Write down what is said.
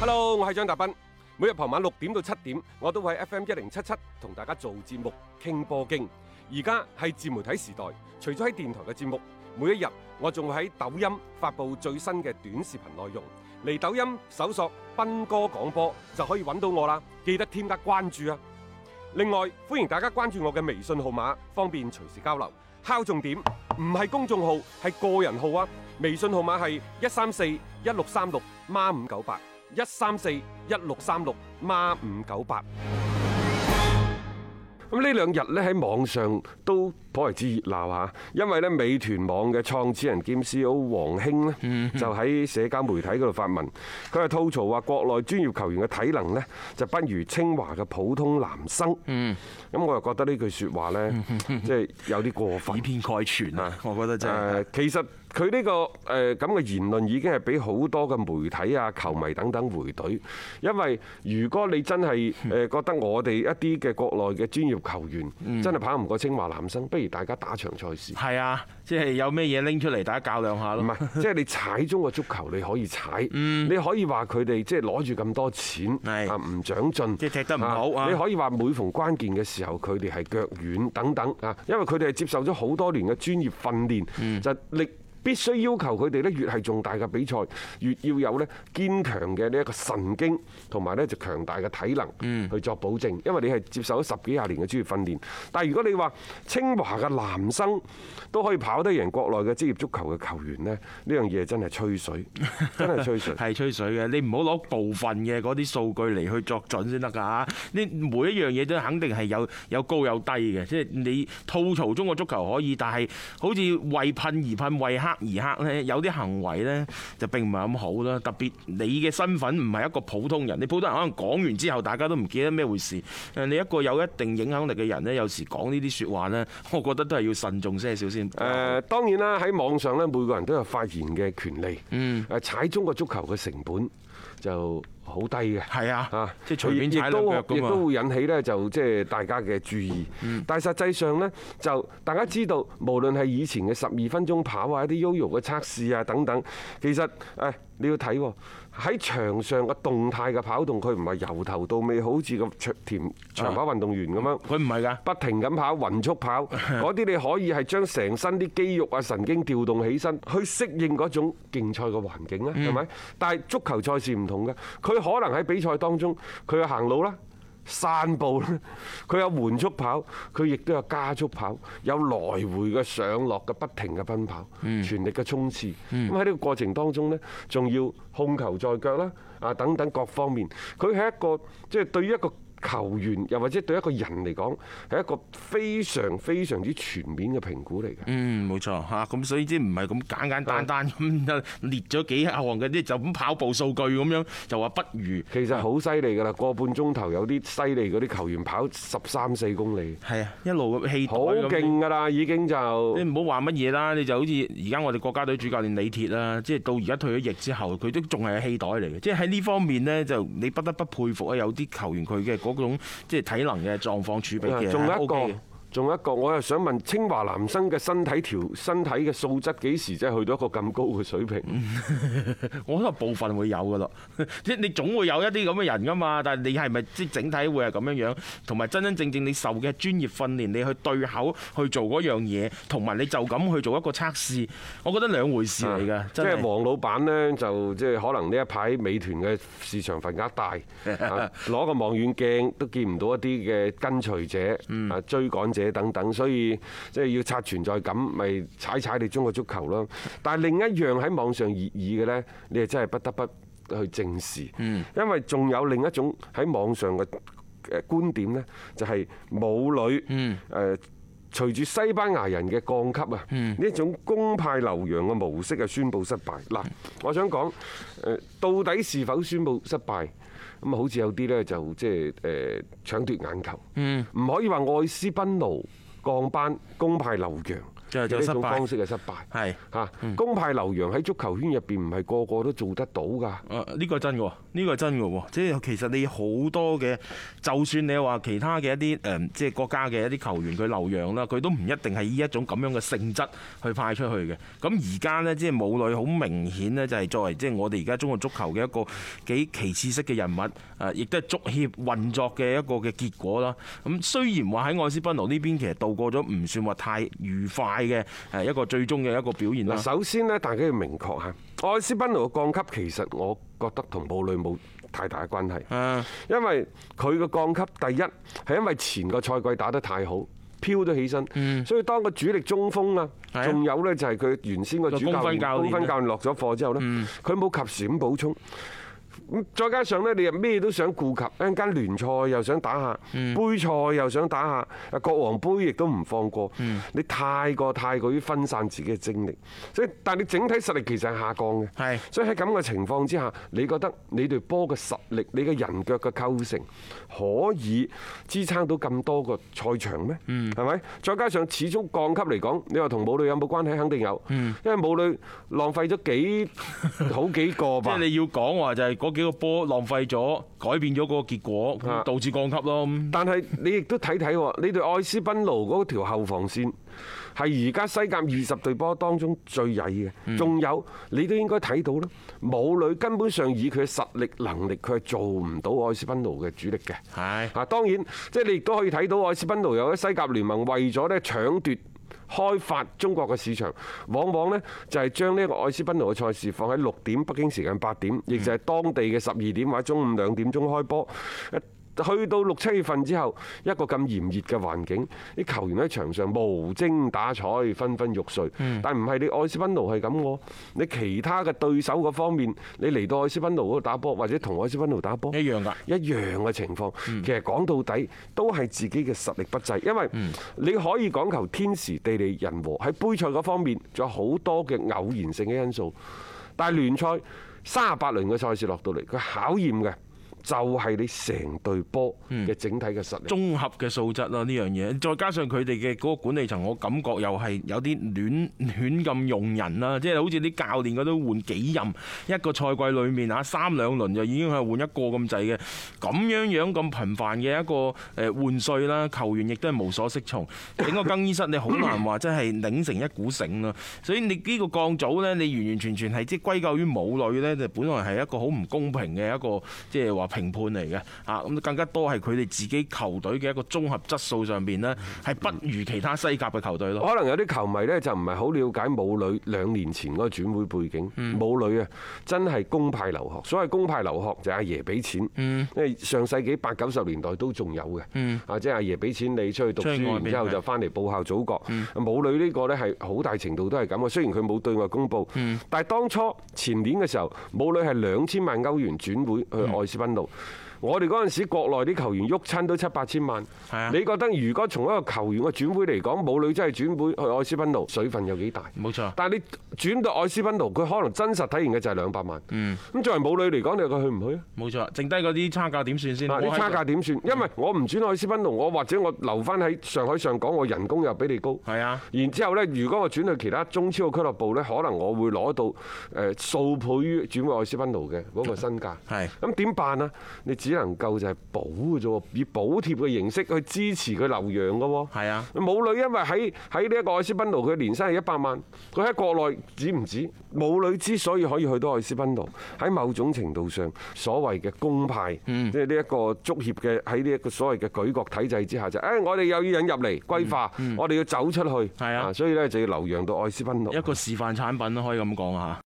Hello， 我係張達斌。每日傍晚6點到7點，我都會喺 FM1077同大家做節目傾波經。而家係自媒體時代，除咗喺電台嘅節目，每一日我仲會喺抖音發布最新嘅短視頻內容。嚟抖音搜索斌哥廣播就可以揾到我啦，記得添加關注啊！另外，歡迎大家關注我嘅微信號碼，方便隨時交流。敲重點，唔係公眾號，係個人號啊！微信號碼係1341636孖598，1341636孖598。咁呢兩日咧喺網上都頗為之熱鬧嚇，因為咧美團網嘅創始人兼 CEO 王興咧就喺社交媒體嗰度發文，佢係吐槽話國內專業球員嘅體能咧就不如清華嘅普通男生。咁我又覺得呢句説話咧，即係有啲過分， 以偏概全啊！我覺得真係。 其實佢呢個咁嘅言論已經係俾好多嘅媒體啊、球迷等等回懟，因為如果你真係覺得我哋一啲嘅國內嘅專業球員真係跑唔過清華男生，不如大家打場賽事。係啊，即係有咩嘢拎出嚟，大家較量下咯。 唔係，即係你踩中國足球，你可以踩，你可以話佢哋即係攞住咁多錢啊，唔長進， 即係踢得唔好啊。 你可以話每逢關鍵嘅時候，佢哋係腳軟等等啊，因為佢哋係接受咗好多年嘅專業訓練，就必須要求佢哋咧，越係重大嘅比賽，越要有咧堅強嘅呢一個神經，同埋咧就強大嘅體能去作保證。因為你係接受咗10幾廿年嘅專業訓練。但係如果你話清華嘅男生都可以跑得贏國內嘅職業足球嘅球員呢，呢樣嘢真係吹水，真係吹水。 係吹水嘅，你唔好攞部分嘅嗰啲數據嚟去作準先得㗎。你每一樣嘢都肯定係有高有低嘅，即係你吐槽中國足球可以，但係好似為噴而噴，為黑而黑咧，有啲行為咧就並唔係咁好啦。特別你嘅身份唔係一個普通人，你普通人可能講完之後大家都唔記得咩回事。你一個有一定影響力嘅人咧，有時講呢啲説話咧，我覺得都係要慎重些少先。 當然啦，喺網上咧，每個人都有發言嘅權利。踩中國足球嘅成本就好低嘅。係啊，即係隨便踩兩腳㗎嘛。亦都會引起咧就即係大家嘅注意。但係實際上咧，就大家知道，無論係以前嘅12分鐘跑啊、一啲 YoYo 嘅測試啊等等，其實你要睇喺場上嘅動態嘅跑動，佢唔係由頭到尾好似個長跑運動員咁樣，佢唔係㗎，不停咁跑、勻速跑，嗰啲你可以係將成身啲肌肉啊、神經調動起身，去適應嗰種競賽嘅環境啦，係咪？但係足球賽事唔同嘅，佢可能喺比賽當中，佢有行路啦、散步啦，佢有緩速跑，佢亦都有加速跑，有來回嘅上落嘅不停嘅奔跑，全力嘅衝刺。咁喺呢個過程當中呢，仲要控球在腳啦，啊等等各方面，佢係一個即係對於一個球員又或者對一個人嚟講係一個非常非常之全面嘅評估嚟嘅。 冇錯嚇，咁所以即係唔係咁簡單咁列咗幾項嘅啲就咁跑步數據咁樣就話不如。 其實好犀利㗎啦，個半鐘頭有啲犀利嗰啲球員跑13-14公里。係啊， 一路咁氣袋咁。 好勁㗎啦，已經就你唔好話乜嘢啦，你就好似而家我哋國家隊主教練李鐵啦，即係到而家退咗役之後，佢都仲係氣袋嚟嘅。即係喺呢方面呢，就你不得不佩服啊！有啲球員佢嘅嗰種即係體能嘅狀況儲備嘅， 仲有一個，我又想問清華男生嘅身體嘅素質幾時真係去到一個咁高嘅水平？ 我覺得部分會有㗎咯，即係你總會有一啲咁嘅人㗎嘛。但係你係咪即係整體會係咁樣樣？同埋真真正正你受嘅專業訓練，你去對口去做嗰樣嘢，同埋你就咁去做一個測試，我覺得兩回事嚟㗎。 即係黃老闆呢，就即係可能呢一排美團嘅市場份額大，攞個望遠鏡都見唔到一啲嘅跟隨者、追趕者等等，所以即係要刷存在感，咪踩你中國足球咯。但係另一樣喺網上熱議嘅呢，你係真係不得不去正視，因為仲有另一種喺網上嘅觀點呢，就係母女隨住西班牙人嘅降級啊，呢一種公派留洋嘅模式啊，宣布失敗。嗱，我想講到底是否宣布失敗？咁啊，好似有啲呢，就即係搶奪眼球，唔可以話愛斯賓奴降班公派留洋。 就呢種方式嘅失敗。係嚇，公派留洋喺足球圈入邊唔係個個都做得到㗎。 呢個真㗎，呢個真㗎喎。即係其實你好多嘅，就算你話其他嘅一啲即係國家嘅一啲球員佢留洋啦，佢都唔一定係以一種咁樣嘅性質去派出去嘅。咁而家呢，即係武磊好明顯呢，就係作為即係我哋而家中國足球嘅一個幾旗幟式嘅人物，亦都係足協運作嘅一個嘅結果啦。咁雖然話喺愛斯賓奴呢邊其實度過咗唔算話太愉快嘅一個最終嘅一個表現啦。 首先呢，大家要明確嚇，愛斯賓奴嘅降級其實我覺得同武磊冇太大嘅關係，因為佢嘅降級第一係因為前個賽季打得太好，飄咗起身，所以當個主力中鋒啊，仲有呢就係佢原先個主教練公分教練落咗課之後呢，佢冇及時咁補充。咁再加上咧，你又咩都想顧及，一陣間聯賽又想打下，杯賽又想打下，國王杯亦都唔放過。你太過於分散自己嘅精力，所以但係你整體實力其實係下降嘅。係，所以喺咁嘅情況之下，你覺得你隊波嘅實力，你嘅人腳嘅構成可以支撐到咁多個賽場咩？係咪？再加上始終降級嚟講，你話同武磊有冇關係？肯定有，因為武磊浪費咗好幾個吧。即係你要講話就係嗰幾個波浪費咗，改變咗嗰個結果，導致降級咯。 但係你亦都睇睇喎，你對愛斯賓奴嗰條後防線係而家西甲20隊波當中最曳嘅，仲有你都應該睇到啦。武磊根本上以佢嘅實力能力，佢係做唔到愛斯賓奴嘅主力嘅。係啊，當然即係你亦都可以睇到愛斯賓奴有喺西甲聯盟為咗咧搶奪開發中國嘅市場，往往呢就係將呢個愛斯賓奴嘅賽事放喺6點北京時間8點，亦就係當地嘅12點或者中午2點鐘開波。去到6、7月份之後，一個咁炎熱嘅環境，啲球員喺場上無精打采、昏昏欲睡。但唔係你愛斯賓奴係咁喎，你其他嘅對手嗰方面，你嚟到愛斯賓奴嗰度打波，或者同愛斯賓奴打波， 一樣㗎， 一樣嘅情況。其實講到底都係自己嘅實力不濟，因為你可以講求天時地利人和，喺杯賽嗰方面仲有好多嘅偶然性嘅因素，但係聯賽38輪嘅賽事落到嚟，佢考驗嘅就係你成隊波嘅整體嘅實力， 綜合嘅素質啦，呢樣嘢，再加上佢哋嘅嗰個管理層，我感覺又係有啲亂咁用人啦，即係好似啲教練嗰都換幾任，一個賽季裡面啊3-2輪就已經係換一個咁滯嘅，咁樣咁頻繁嘅一個換帥啦，球員亦都係無所適從，整個更衣室你好難話真係擰成一股繩啦，所以你呢個降組呢，你完完全全係即係歸咎於武磊呢，就本來係一個好唔公平嘅一個即係話評判嚟嘅啊，咁更加多係佢哋自己球隊嘅一個綜合質素上邊呢，係不如其他西甲嘅球隊咯。 可能有啲球迷呢，就唔係好了解武磊2年前嗰個轉會背景。武磊啊，真係公派留學。所謂公派留學就係阿爺俾錢，因為上世紀80、90年代都仲有嘅。啊，即係阿爺俾錢你出去讀書，然之後就翻嚟報效祖國。武磊呢個呢，係好大程度都係咁嘅。雖然佢冇對外公佈，但係當初前年嘅時候，武磊係2000萬歐元轉會去愛斯賓奴。我哋嗰陣時國內啲球員喐親都7、8千萬。你覺得如果從一個球員嘅轉會嚟講，武磊真係轉會去愛斯賓奴，水分有幾大？冇錯。但係你轉到愛斯賓奴，佢可能真實體現嘅就係200萬。咁作為武磊嚟講，你話佢去唔去啊？冇錯。剩低嗰啲差價點算先？啲差價點算？因為我唔轉愛斯賓奴，我或者我留翻喺上海上港，我人工又比你高。係啊。然之後呢，如果我轉去其他中超嘅俱樂部呢，可能我會攞到數倍於轉會愛斯賓奴嘅嗰個身價。係。咁點辦啊？你只能夠就係補嘅啫喎，以補貼嘅形式去支持佢留洋嘅喎。係啊，武磊因為喺呢一個愛斯賓奴，佢年薪係100萬，佢喺國內止唔止？武磊之所以可以去到愛斯賓奴，喺某種程度上，所謂嘅公派，即係呢一個足協嘅喺呢一個所謂嘅舉國體制之下，就我哋又要引入嚟歸化，我哋要走出去。係啊，所以咧就要留洋到愛斯賓奴，一個示範產品咯，可以咁講嚇。